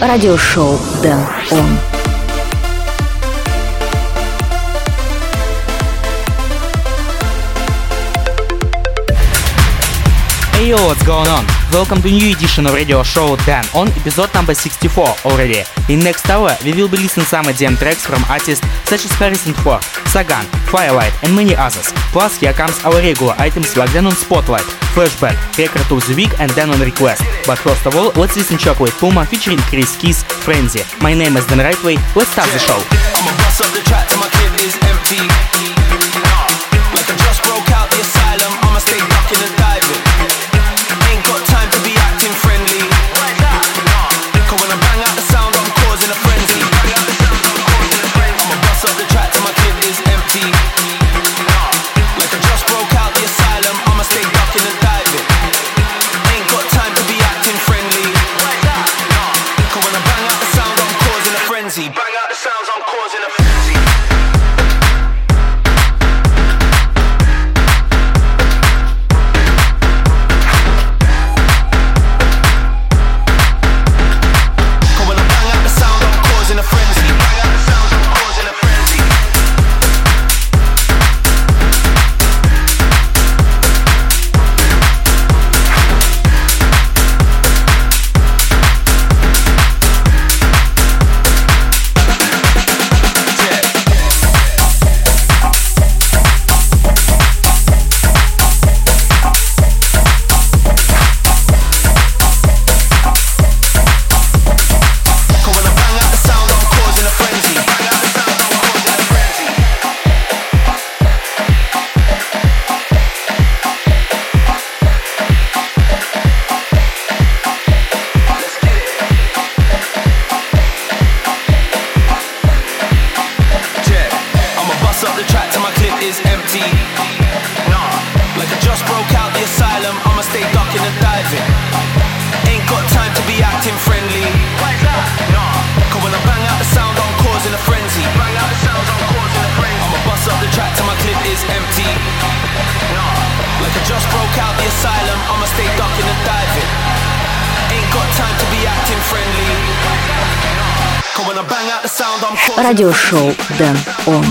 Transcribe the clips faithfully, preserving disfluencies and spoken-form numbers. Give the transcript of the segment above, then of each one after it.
радиошоу Дэн Он. Hey yo, what's going on? Welcome to new edition of radio show Dan On, episode number sixty-four already. In next hour, we will be listening some E D M tracks from artists such as Harrison Ford, Sagan, Firelight and many others. Plus, here comes our regular items like Dan On Spotlight, Flashback, Record of the Week and Dan On Request. But first of all, let's listen Chocolate Puma featuring Chris Keys, Frenzy. My name is Dan Rightway, let's start the show. I'ma bust up the track till my clip is empty. Like I just broke out the asylum, I'ma stay ducking and diving. Ain't got time to be acting friendly. Cause when I bang out the sound, I'm causing a frenzy. I'ma bust up the track till my clip is empty. Like I just broke out the asylum, I'ma stay ducking and diving. Ain't got time to be acting friendly. Cause when I bang out the sound, I'm causing a frenzy. Bang out the sounds, I'm causing a frenzy. Радиошоу Дэн Он.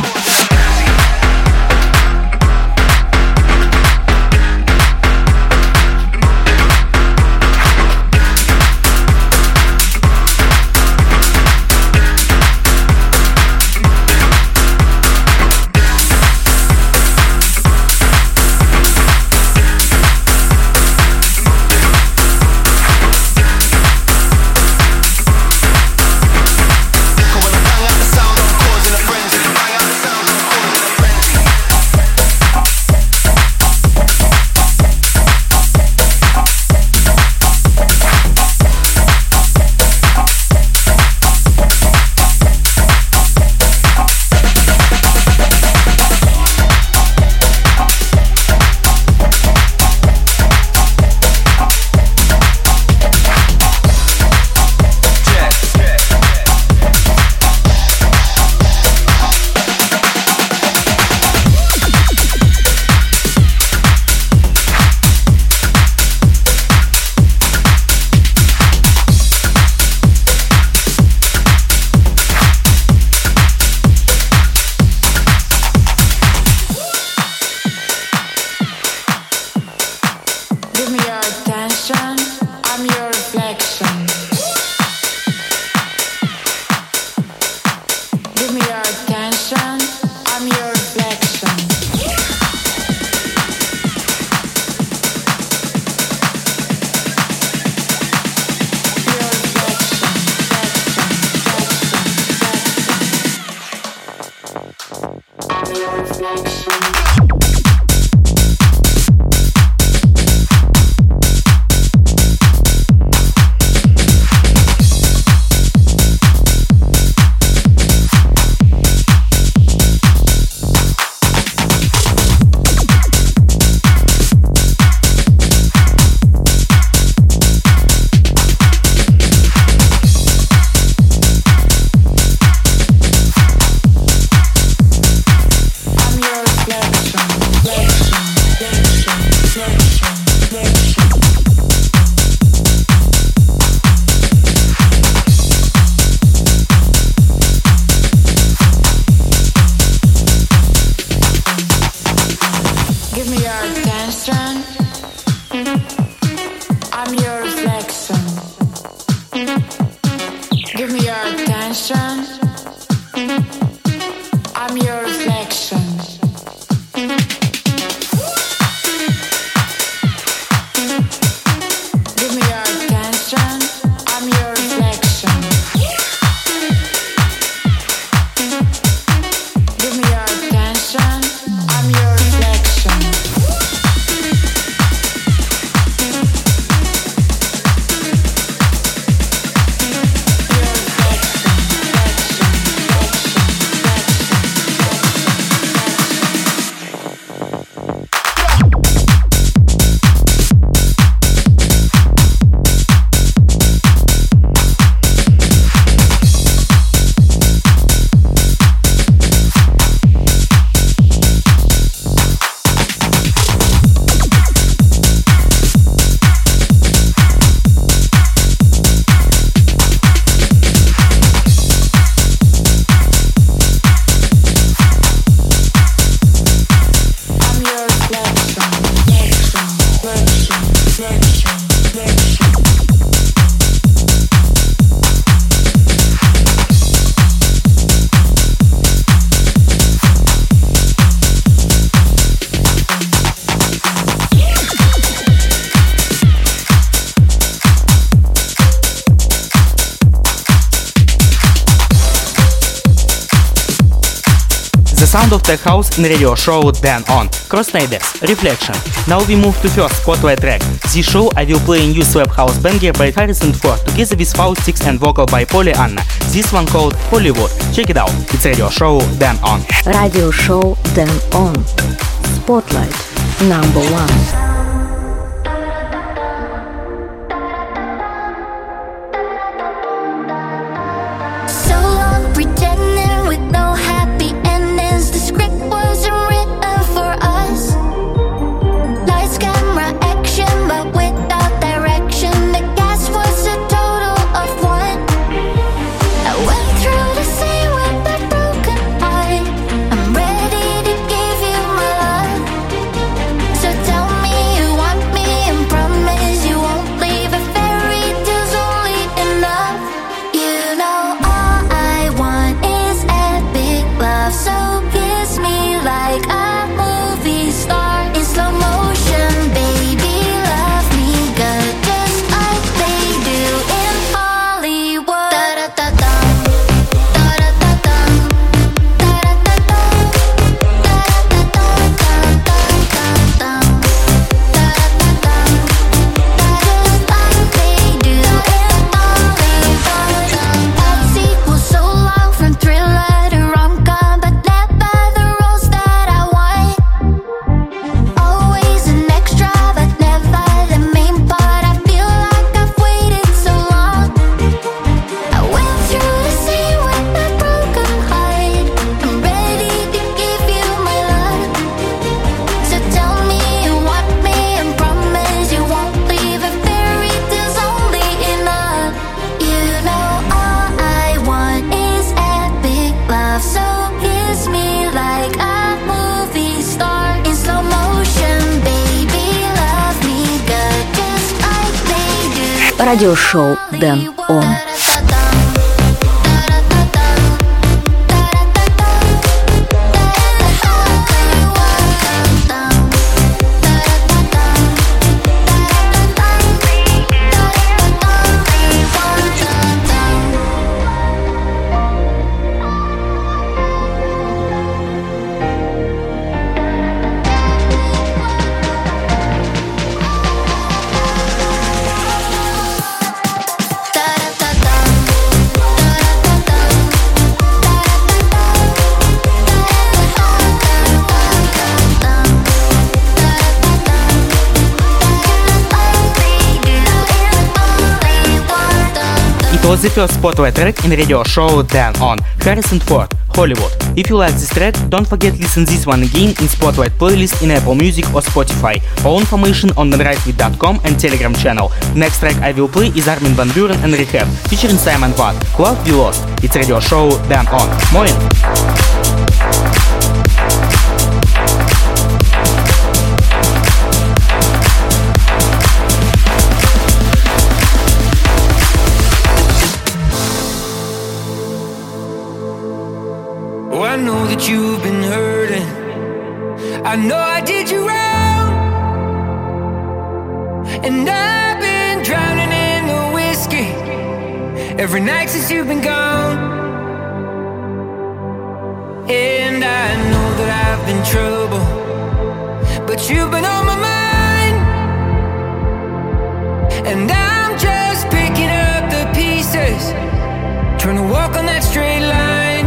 When I bang out the sound, I'm causing a frenzy. Bang out the sound. Give me your attention. I'm your reflection. Give me your attention. I'm your reflection. Give me your attention. I'm your reflection. Sound of Tech House in radio show Dan On. Crossnaders, Reflection. Now we move to first spotlight track. This show I will play a new slap house banger by Harrison Ford together with Faustix and vocal by Polly Anna. This one called Hollywood. Check it out. It's radio show Dan On. Radio show Dan On. Spotlight number one. Радиошоу Dan On. It was the first spotlight track in radio show Dan On. Harrison Ford, Hollywood. If you like this track, don't forget listen this one again in Spotlight playlist in Apple Music or Spotify. All information on the rightwith dot com and Telegram channel. Next track I will play is Armin van Buuren and Rehab, featuring Simon Watt. Love We Lost. It's radio show Dan On. Moin! that you've been hurting. I know I did you wrong, and I've been drowning in the whiskey every night since you've been gone. And I know that I've been trouble, but you've been on my mind. And I'm just picking up the pieces, trying to walk on that straight line.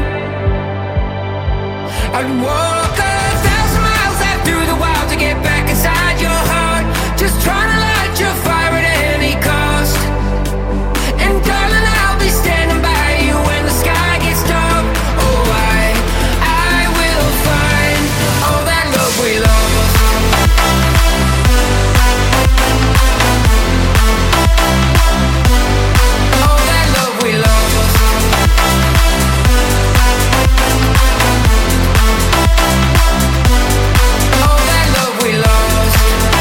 I'd walk a thousand miles out through the wild to get back inside your heart, just trying to light your fire at any cost. And darling, I'll be standing by you when the sky gets dark. Oh, I, I will find all that love we lost. All that love we lost. All that love we lost.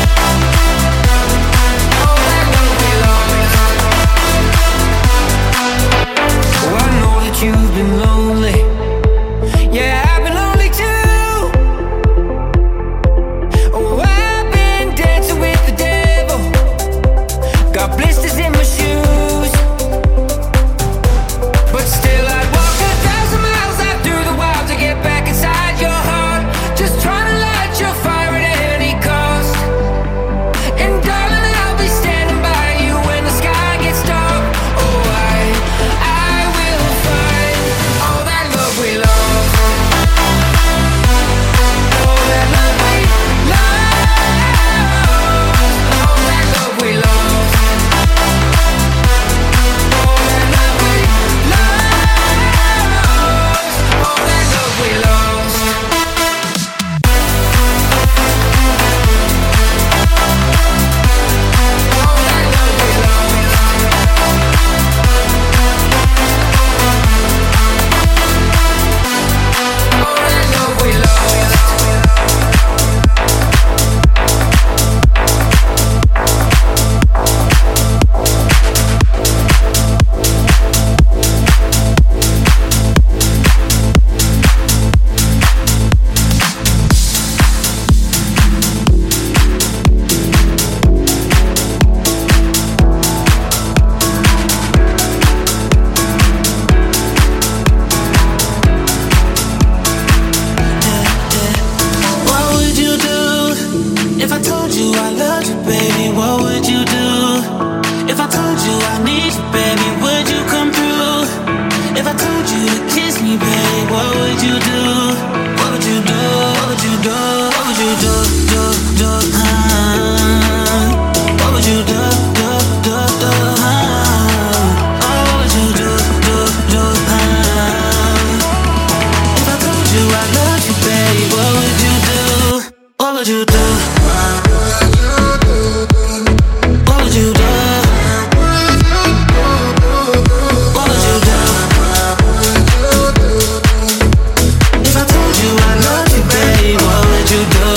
All that love we lost. Oh, I know that you've been lonely. Yeah, I've been lonely too. Oh, I've been dancing with the devil, got blisters in my shoes. But still I'd walk a thousand miles out through the wild to get back inside your heart, just trying to light your fire at any cost. And darling, I'll be standing by you when the sky gets dark. Oh, I, I will find all that love we lost. All that love we lost. All that love we lost. All that love we lost. All that love we lost. All that love we lost. All that love we lost. What would you do if I told you I loved you, baby? What would you do if I told you I need you, baby? Would you come through? If I told you to kiss me, baby, what would you do? What would you do? What would you do? What would you do? Do, do, huh? What would you do? Do, do, do, huh? Oh, what would you do? Do, do, huh? If I told you I loved you, baby, what would you do? What would you do? What would you do? What would you do? If I told you I loved you, baby, what would you do?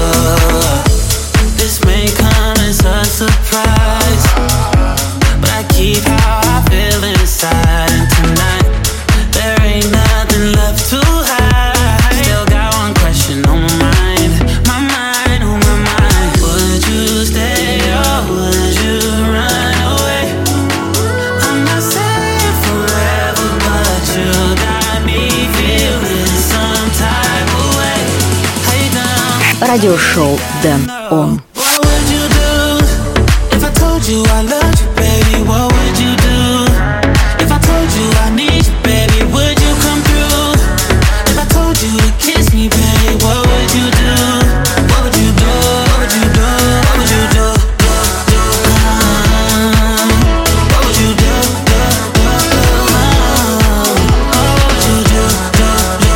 This may come as a surprise, but I keep how I feel inside. And tonight, there ain't nothing left to hide. Still got one question on my mind, my mind, on my mind. Would you stay or would you run away? I'm not saying forever, but you got me feeling some type of way. How you down? Радиошоу Дэн Он. What would you do if I told you I loved you, baby? What would you do if I told you I need you, baby? Would you come through? If I told you to kiss me, baby, what would you do? What would you do? What would you do? What would you do? Do, do, huh? What would you do? Do, do, do, huh? Oh, what would you do? Do, do,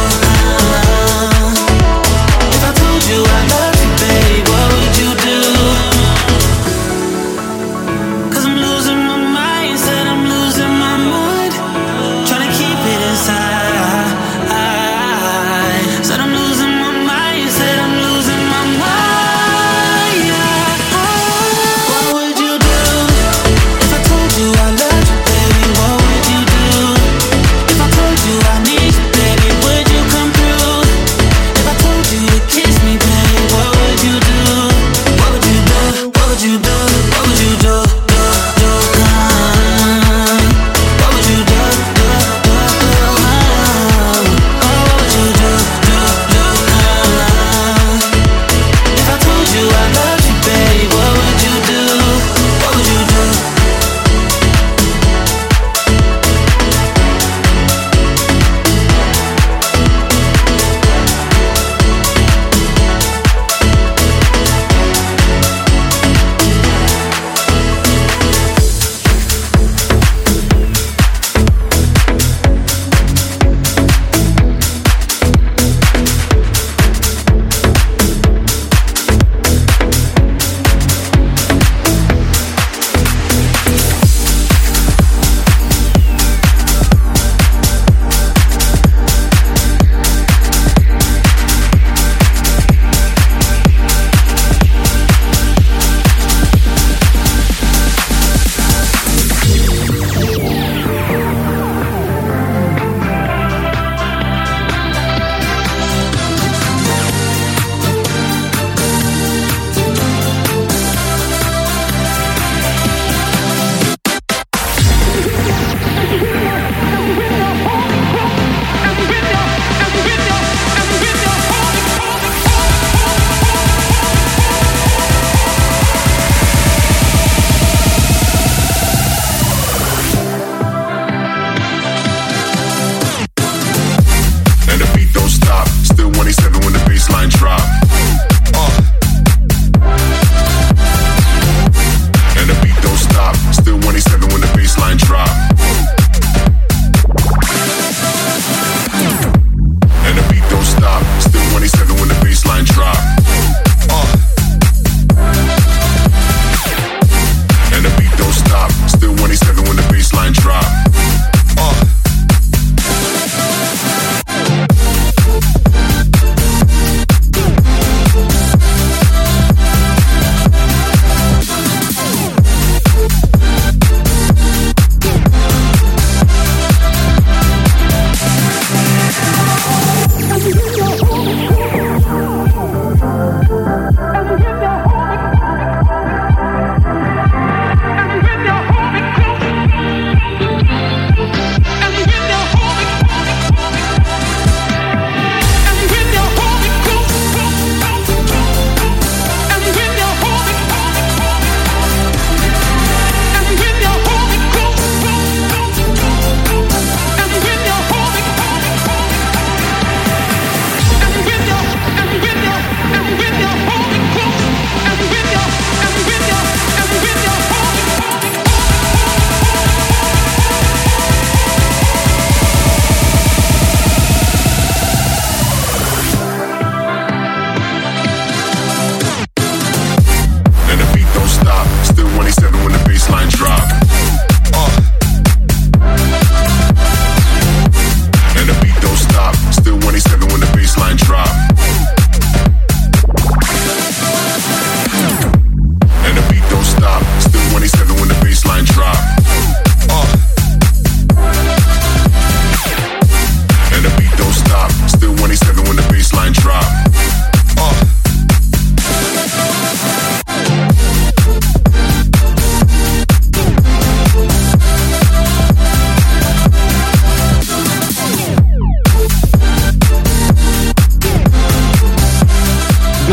huh? If I told you I loved you, baby, what would you do? 'Cause I'm losing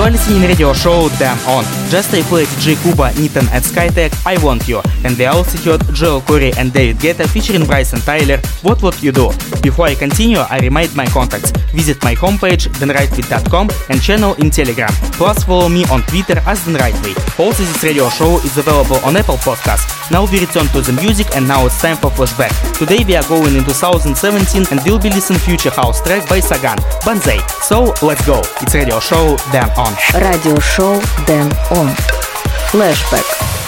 are listening radio show Damn On. Just I played D J Kuba, Nitan and Skytech, I Want You, and they also heard Joel Corey and David Guetta featuring Bryson Tyler, What What You Do. Before I continue, I remind my contacts. Visit my homepage dan rightway dot com and channel in Telegram. Plus follow me on Twitter as Dan Rightway. Also this radio show is available on Apple Podcasts. Now we return to the music and now it's time for flashback. Today we are going into two thousand seventeen and we'll be listening future house track by Sagan, Banzai. So let's go. It's radio show Damn On. Radio show Damn On. Flashback.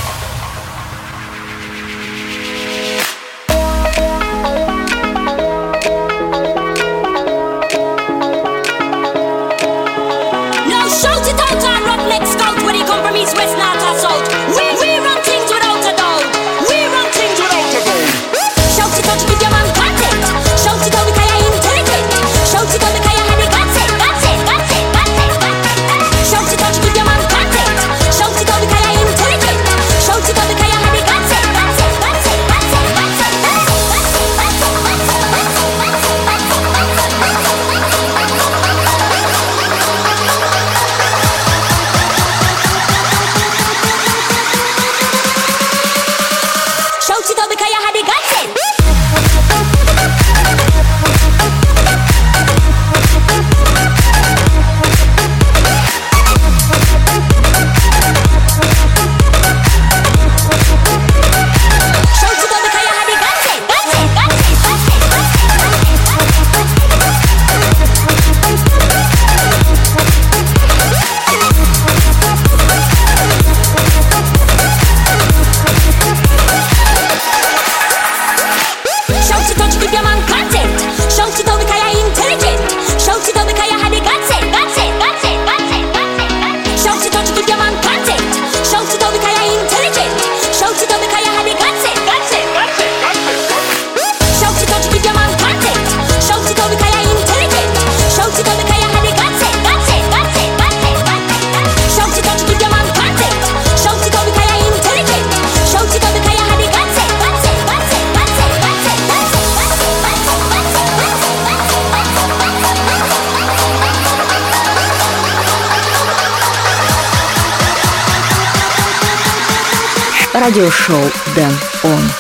Radio show Damn On.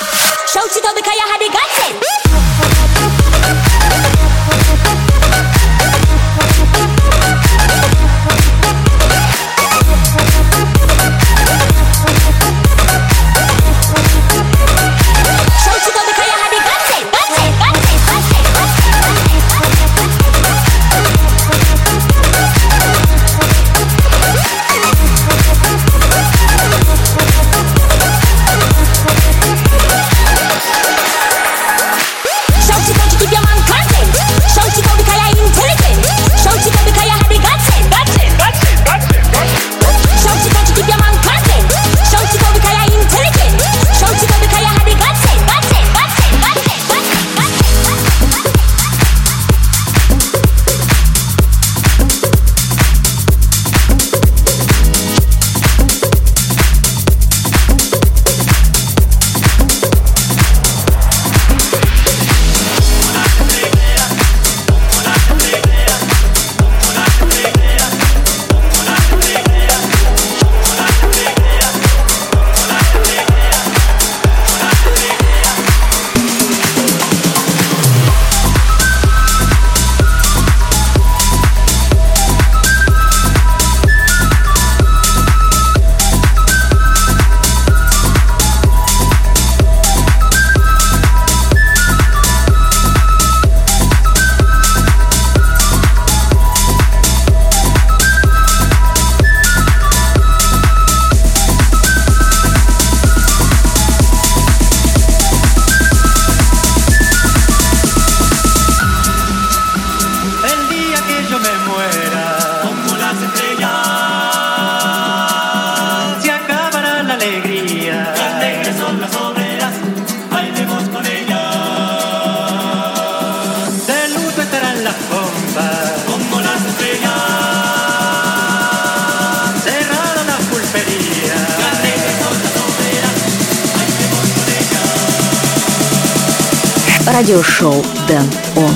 Radio show Damn On.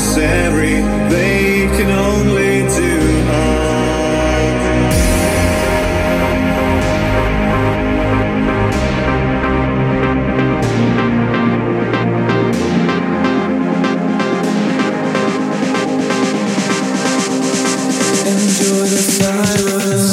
unnecessary. They can only do harm. Enjoy the silence.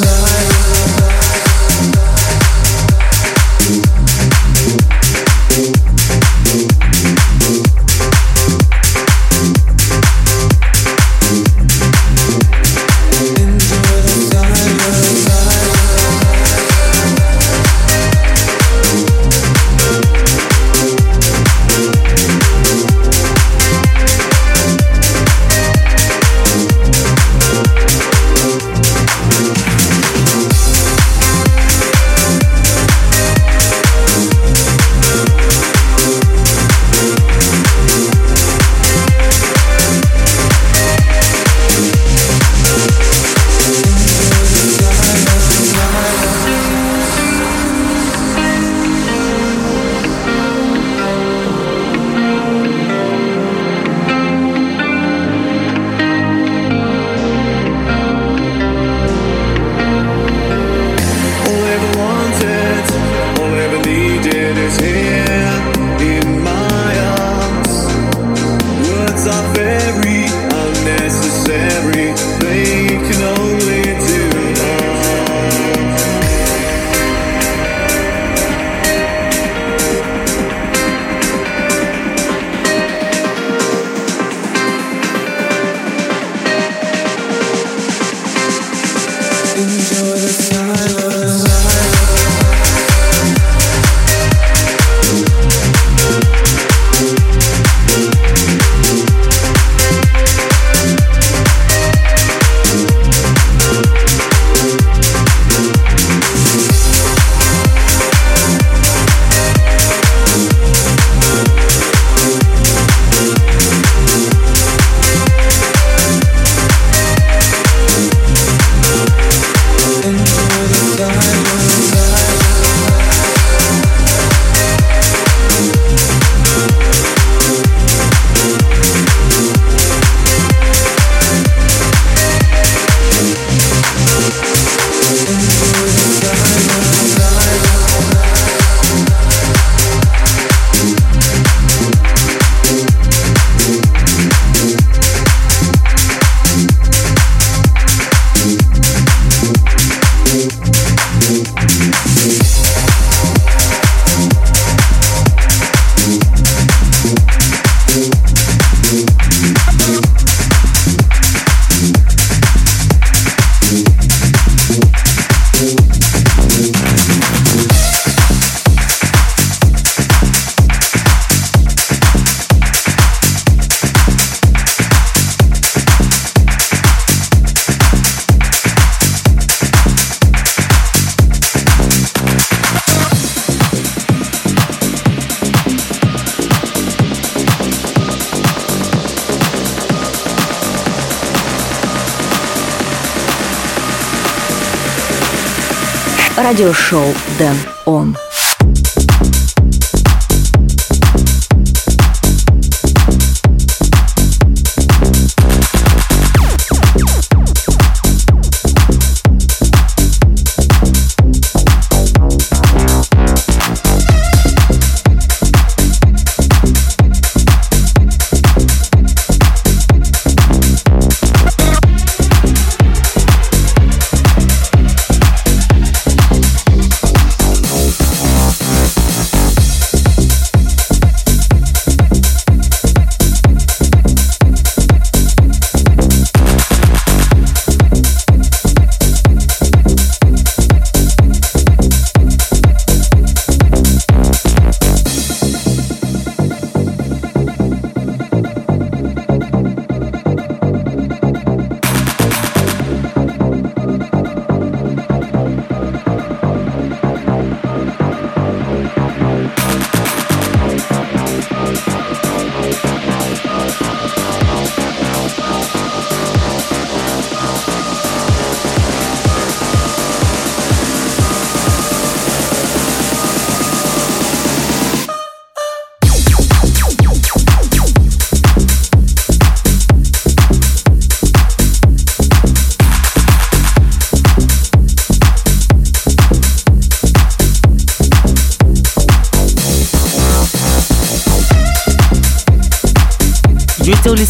Радиошоу Дэн Он.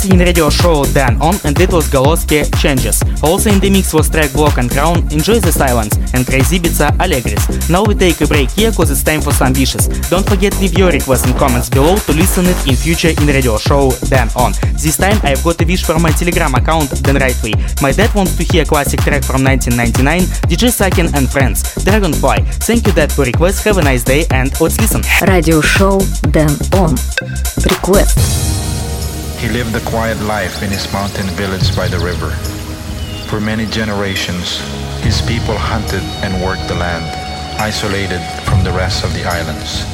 This is in radio show Dan On, and it was Goloski Changes. Also in the mix was track Block and Crown, Enjoy the Silence, and Crazy Ibiza Allegris. Now we take a break here cause it's time for some wishes. Don't forget leave your requests and comments below to listen it in future in radio show Dan On. This time I've got a wish from my Telegram account Dan Rightway. My dad wants to hear a classic track from nineteen ninety-nine, D J Sakin and Friends, Dragonfly. Thank you Dad for request, have a nice day and let's listen. Radio show Dan On. Request. He lived a quiet life in his mountain village by the river. For many generations, his people hunted and worked the land, isolated from the rest of the islands.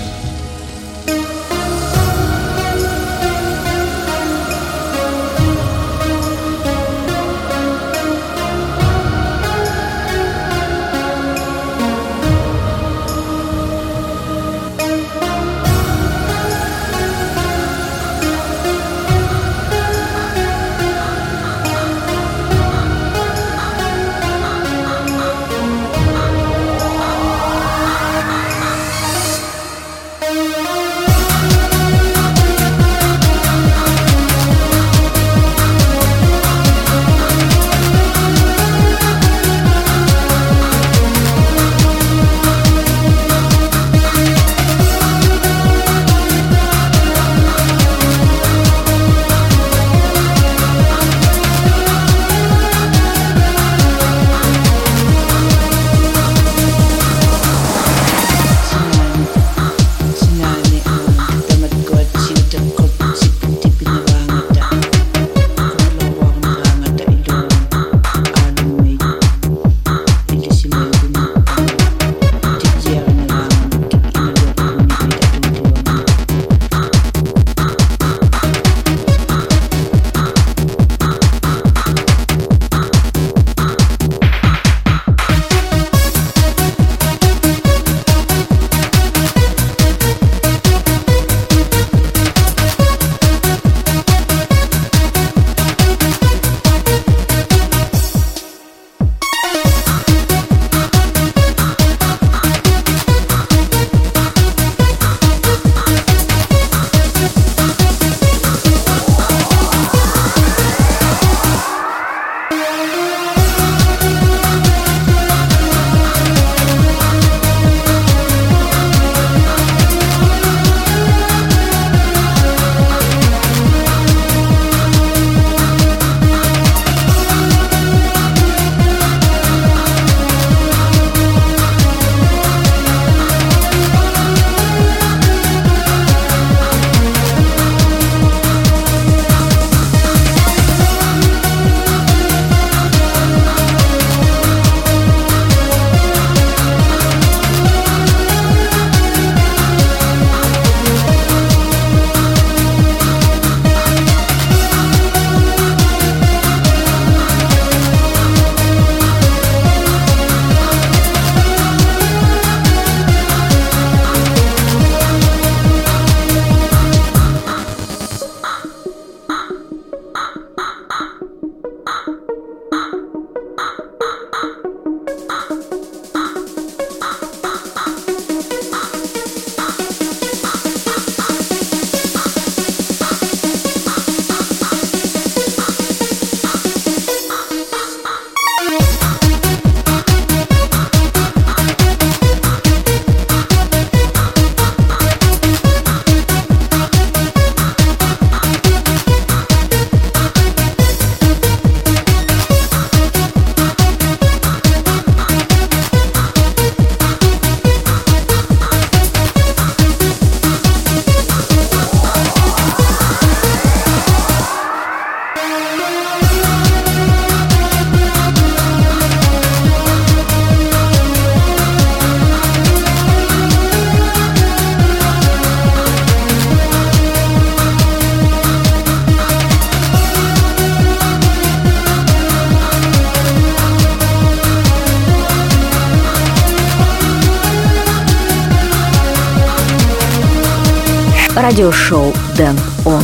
радиошоу Dan On.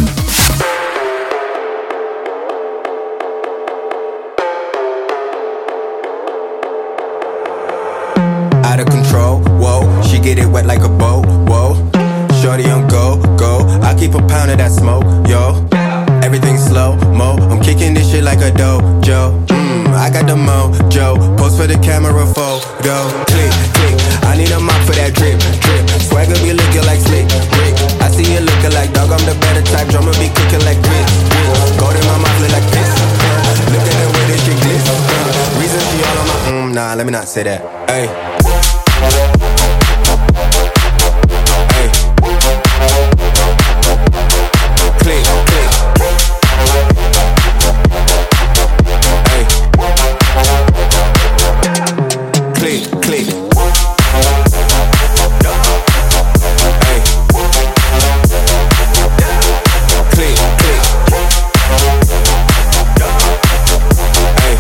Out of control, whoa, she get it wet like a boat, whoa. Shorty on go, go, I keep a pound of that smoke, yo. everything slow mo. I'm kicking this shit like a dojo. Mmm, I got the mojo. Post for the camera photo. Click, click. I need a mop for that drip, drip. Swagger be looking like slick, Rick. I see you looking like dog. I'm the better type. Drummer be kicking like grit, grit. Gold in my mouth look like piss. Uh, look at the way this shit glitz. Uh, reason she all on my mm, nah. Let me not say that. Hey. Hey. Click, click. Hey. Click, click. Hey. Click, click. Hey.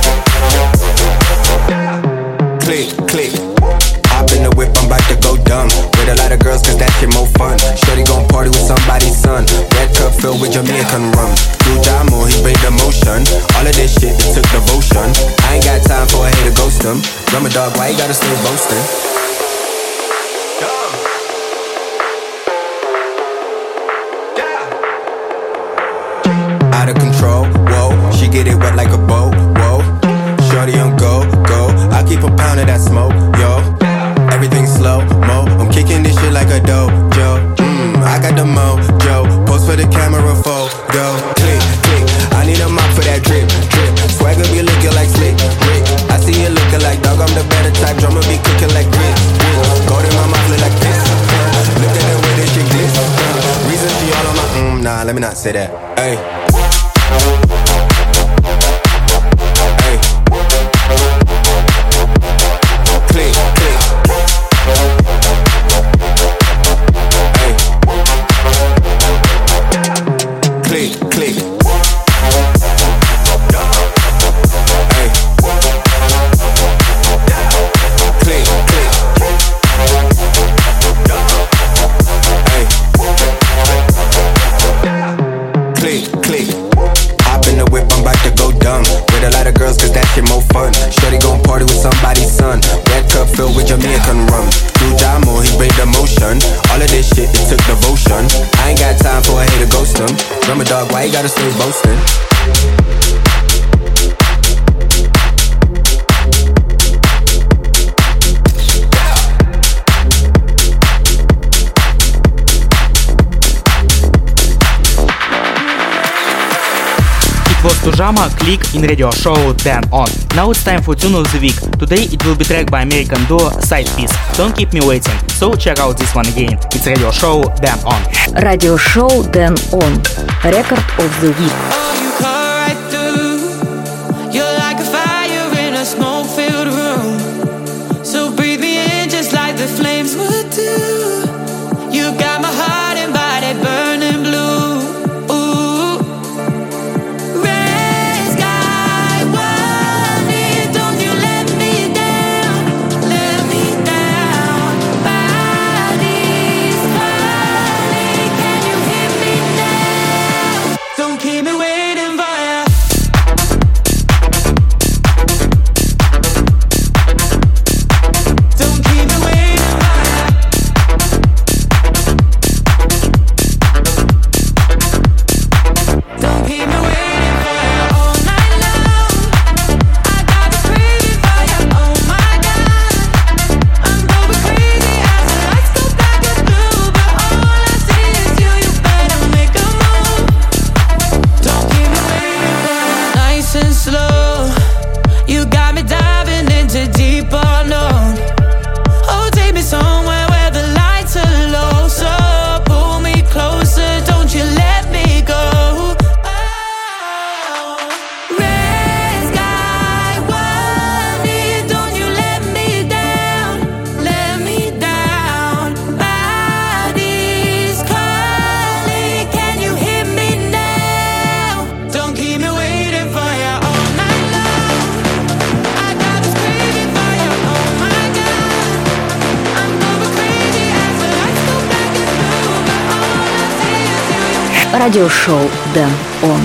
Click, click. Hop in the whip, I'm about to go dumb. With a lot of girls, cause that shit more fun. Shorty gon' party with somebody's son. Red cup filled with Jamaican rum. Do Jamo, he made the motion. All of this shit, it took devotion. I ain't got time for a hater ghost him. Drummer dog, why you gotta stay boasting? Out of control, whoa. She get it wet like a boat, whoa. Shorty on go, go. I keep a pound of that smoke, yo. Everything slow mo. I'm kicking this shit like a dojo. Mmm, I got the mojo. Post for the camera photo. Click, click. I need a mop for that drip, drip. Swagger be looking like slick, Rick. I see you looking like dog. I'm the better type. Drummer be cooking like grit, grit. Gold in my mouth look like piss. Uh, look at the way this shit glitz. Uh, reason she all on my mm, nah. Let me not say that. Hey. Hey. Click, click. Hey. Click, click. Hey. Click, click. Hey. Click, click. Hop in the whip, I'm about to go dumb. With a lot of girls, cause that shit more fun. Shorty gon' party with somebody's son. Red cup filled with Jamaican rum. Do Jamo, he made the motion. All of this shit, it took devotion. I ain't got time for a hater ghost him. Drummer dog, why you gotta stay boasting? It was Tujama, Click in radio show Dan On. Now it's time for Tune of the Week. Today it will be tracked by American duo Side Piece. Don't keep me waiting. So check out this one again. It's radio show Dan On. Radio show Dan On. Record of the week. Oh, you cut right through. You're like a fire in a smoke-filled room. So breathe me in just like the flames would do. You got my heart and body burning blue. Радиошоу Dan On.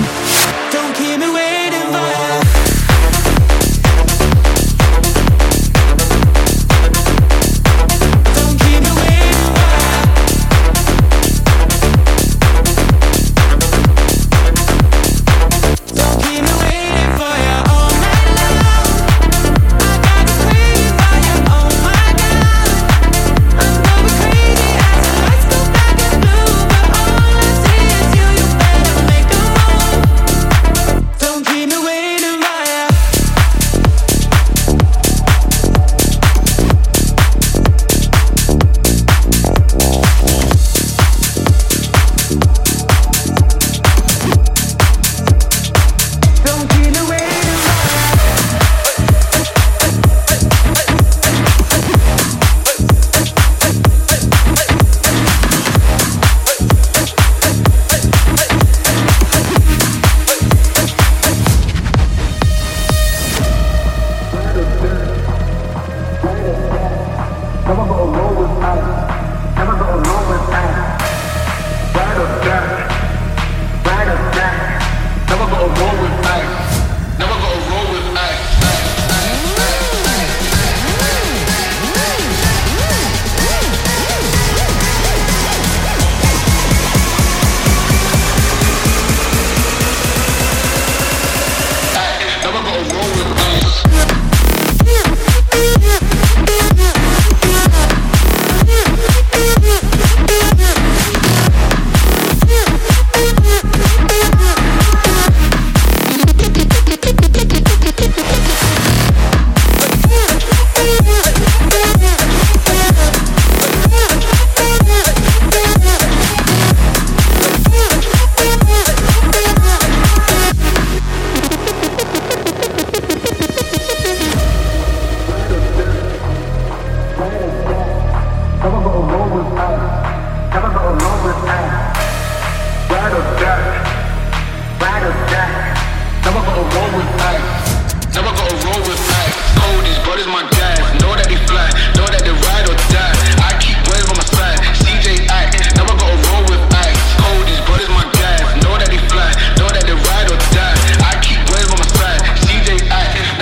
roll with ice. Never gotta roll with ice. Cold, these brothers my guys. Know that they fly, know that they ride or die. I keep waves on my side. C J I, never gotta roll with ice. Cold, these brothers my guys. Know that they fly, know that they ride or die. I keep waves on my side. C J I.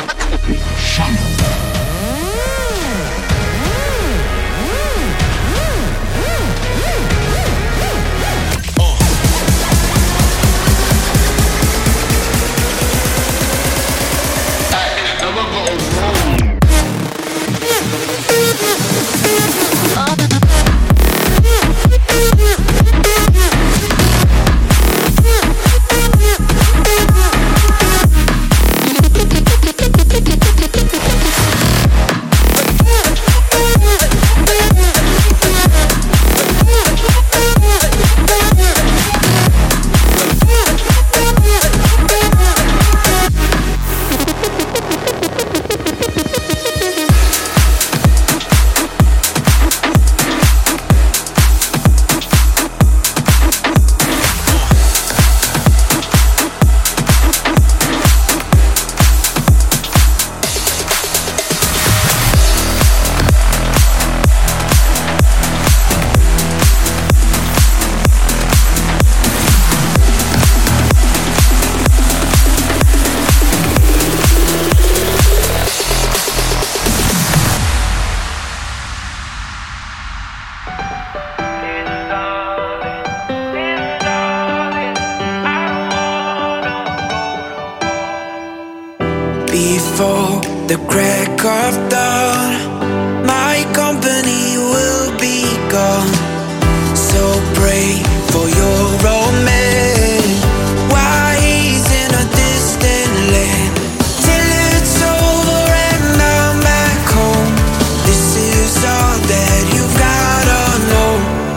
Before the crack of dawn, my company will be gone. So pray for your romance while he's in a distant land. Till it's over and I'm back home. This is all that you've gotta know.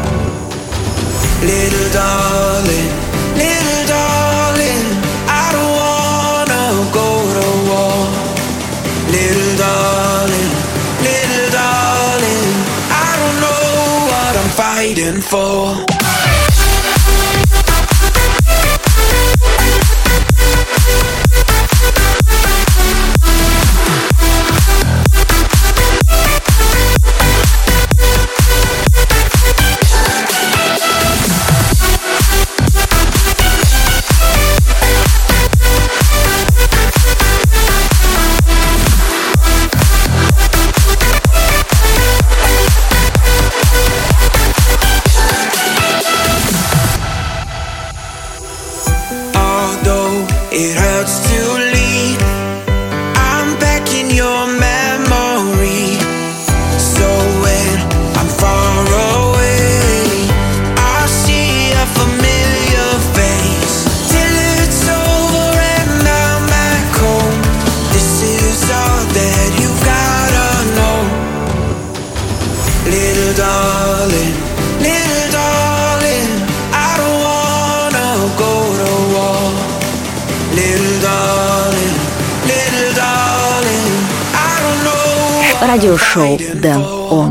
Little darling, little darling, I don't wanna go to war. Little darling, little darling, I don't know what I'm fighting for. It hurts to leave. I'm back in your memory. So when I'm far away, I see a familiar face. Till it's over and I'm back home. This is all that you've gotta know. Little darling, little darling, I don't wanna go to war. Little darling, little darling, I don't know. Радиошоу Дэн Он.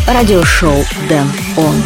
радиошоу Дэн Он.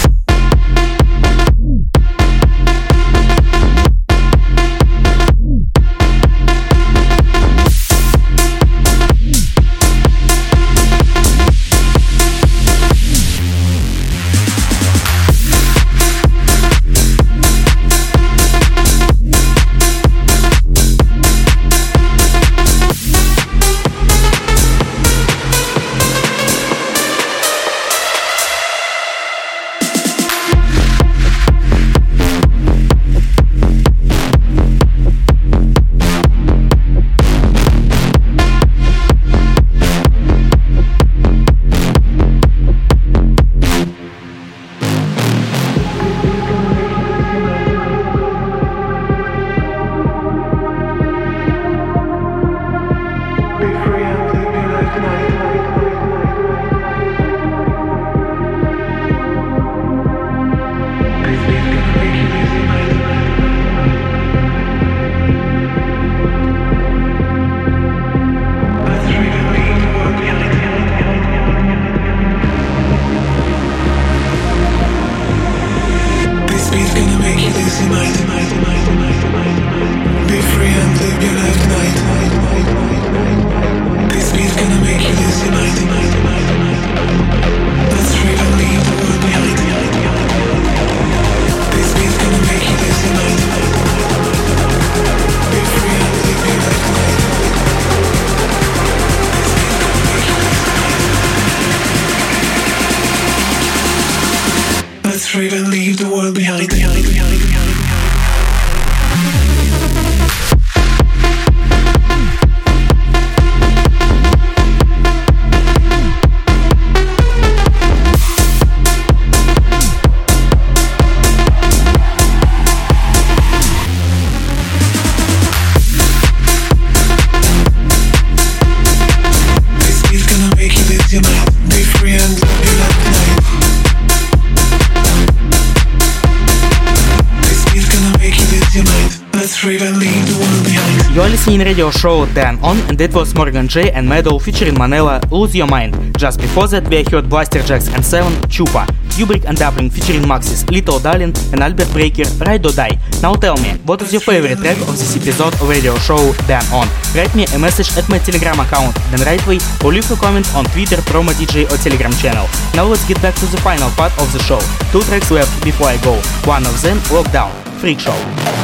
You're listening radio show Dan On, and that was Morgan J and Meadow featuring Manela, Lose Your Mind. Just before that we heard Blaster Jacks and Seven, Chupa, Kubrick and Dublin featuring Maxis, Little Darling and Albert Breaker, Ride or Die. Now tell me, what is your favorite track of this episode of radio show Dan On? Write me a message at my Telegram account Dan Rightway or leave a comment on Twitter, Promo D J or Telegram channel. Now let's get back to the final part of the show. Two tracks left before I go. One of them, Lockdown, Freak Show.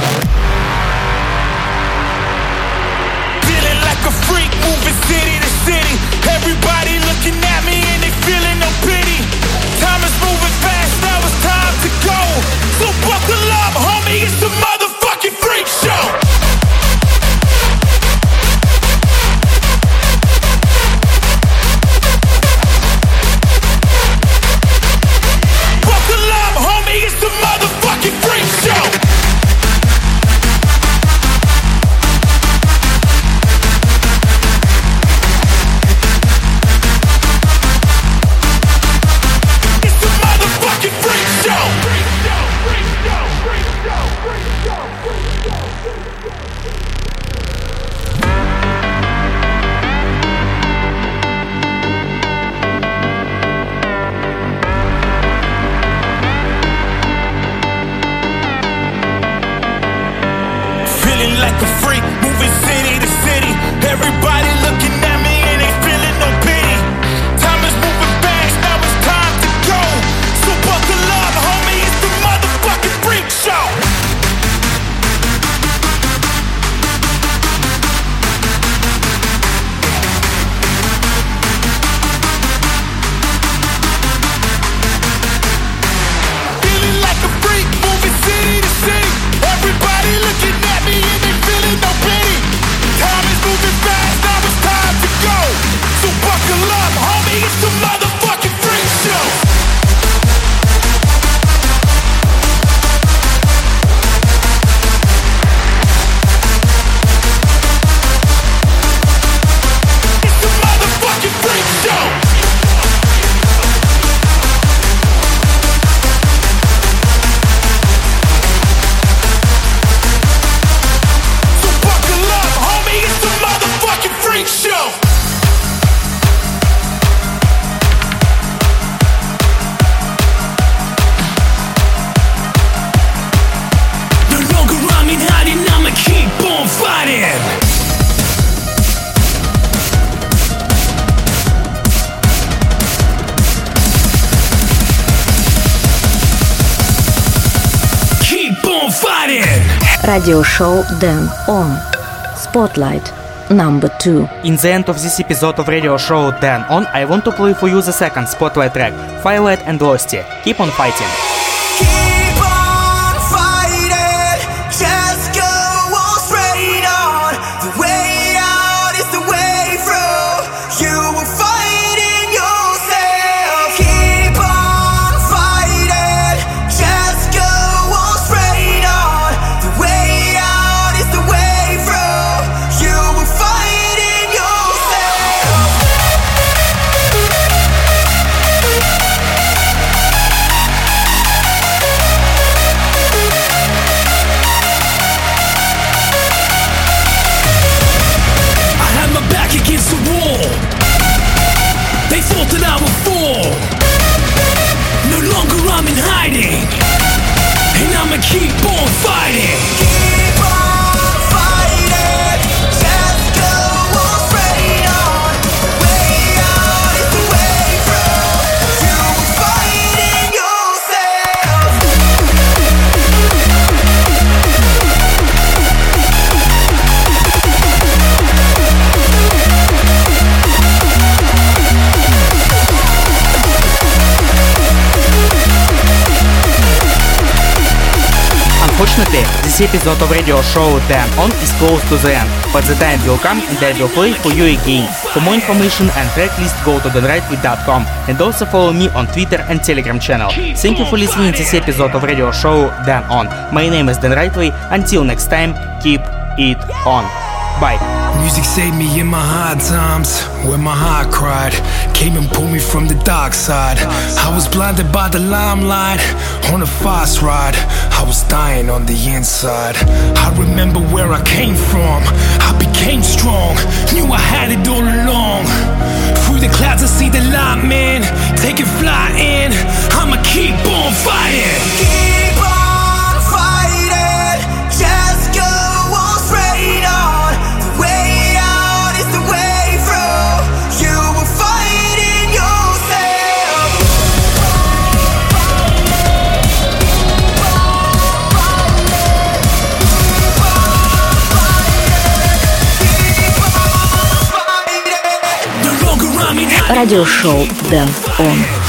A freak moving city to city. Everybody looking at me and they feeling no pity. Time is moving fast, now it's time to go. So buckle up, homie, it's the motherfucking freak show. Buckle up, homie, it's the motherfucking freak show. Radio show Dan On. Spotlight number two. In the end of this episode of radio show Dan On, I want to play for you the second Spotlight track, Firelight and Losty. Keep on fighting. Keep on fighting, just go on straight on. The way out is the way through. You will fight in yourself. Keep on fighting, just go on straight on. The way out is the way through. You will fight in yourself. I had my back against the wall. They thought that I would fall. No longer I'm in hiding, and I'ma keep on fighting. Keep on fighting, just go on straight on. The way out is the way through. You will fight in yourself. Unfortunately, this episode of radio show Dan On is close to the end, but the time will come and I will play for you again. For more information and track list, go to dan rightway dot com and also follow me on Twitter and Telegram channel. Thank you for listening to this episode of radio show Dan On. My name is Dan Rightway. Until next time, keep it on. Bye. Music saved me in my hard times, when my heart cried, came and pulled me from the dark side. I was blinded by the limelight, on a fast ride, I was dying on the inside. I remember where I came from, I became strong, knew I had it all along. Through the clouds I see the light, man, taking flight in, I'ma keep on fighting. Keep on fighting, just go on straight on. The way out is the way through. You will fight in yourself. No longer I'm in Radio show Dan On.